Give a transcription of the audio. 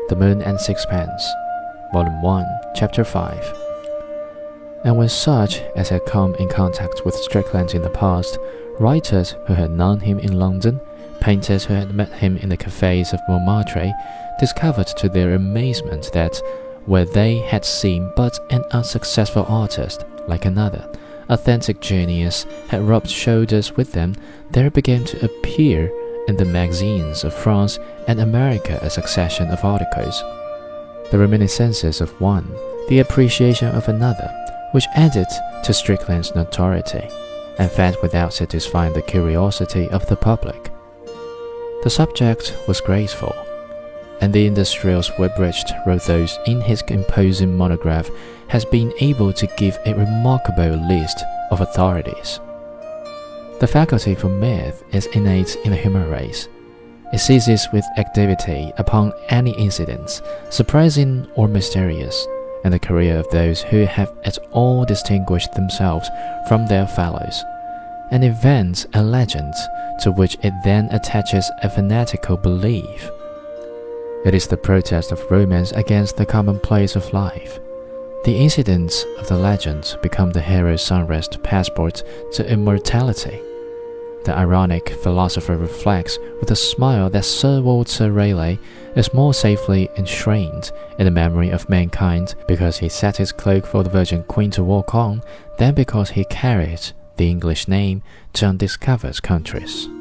The Moon and Sixpence, Volume 1, Chapter 5. And when such as had come in contact with Strickland in the past, writers who had known him in London, painters who had met him in the cafes of Montmartre, discovered to their amazement that, where they had seen but an unsuccessful artist, like another, authentic genius had rubbed shoulders with them, there began to appear in the magazines of France and America a succession of articles, the reminiscences of one, the appreciation of another, which added to Strickland's notoriety, and fed without satisfying the curiosity of the public. The subject was graceful, and the industrial Sweetbridge wrote those in his imposing monograph has been able to give a remarkable list of authorities. The faculty for myth is innate in the human race. It seizes with activity upon any incidents, surprising or mysterious, in the career of those who have at all distinguished themselves from their fellows, and invents a legend to which it then attaches a fanatical belief. It is the protest of romance against the commonplace of life. The incidents of the legend become the hero's sunrest passport to immortality. The ironic philosopher reflects with a smile that Sir Walter Raleigh is more safely enshrined in the memory of mankind because he set his cloak for the Virgin Queen to walk on than because he carried the English name to undiscovered countries.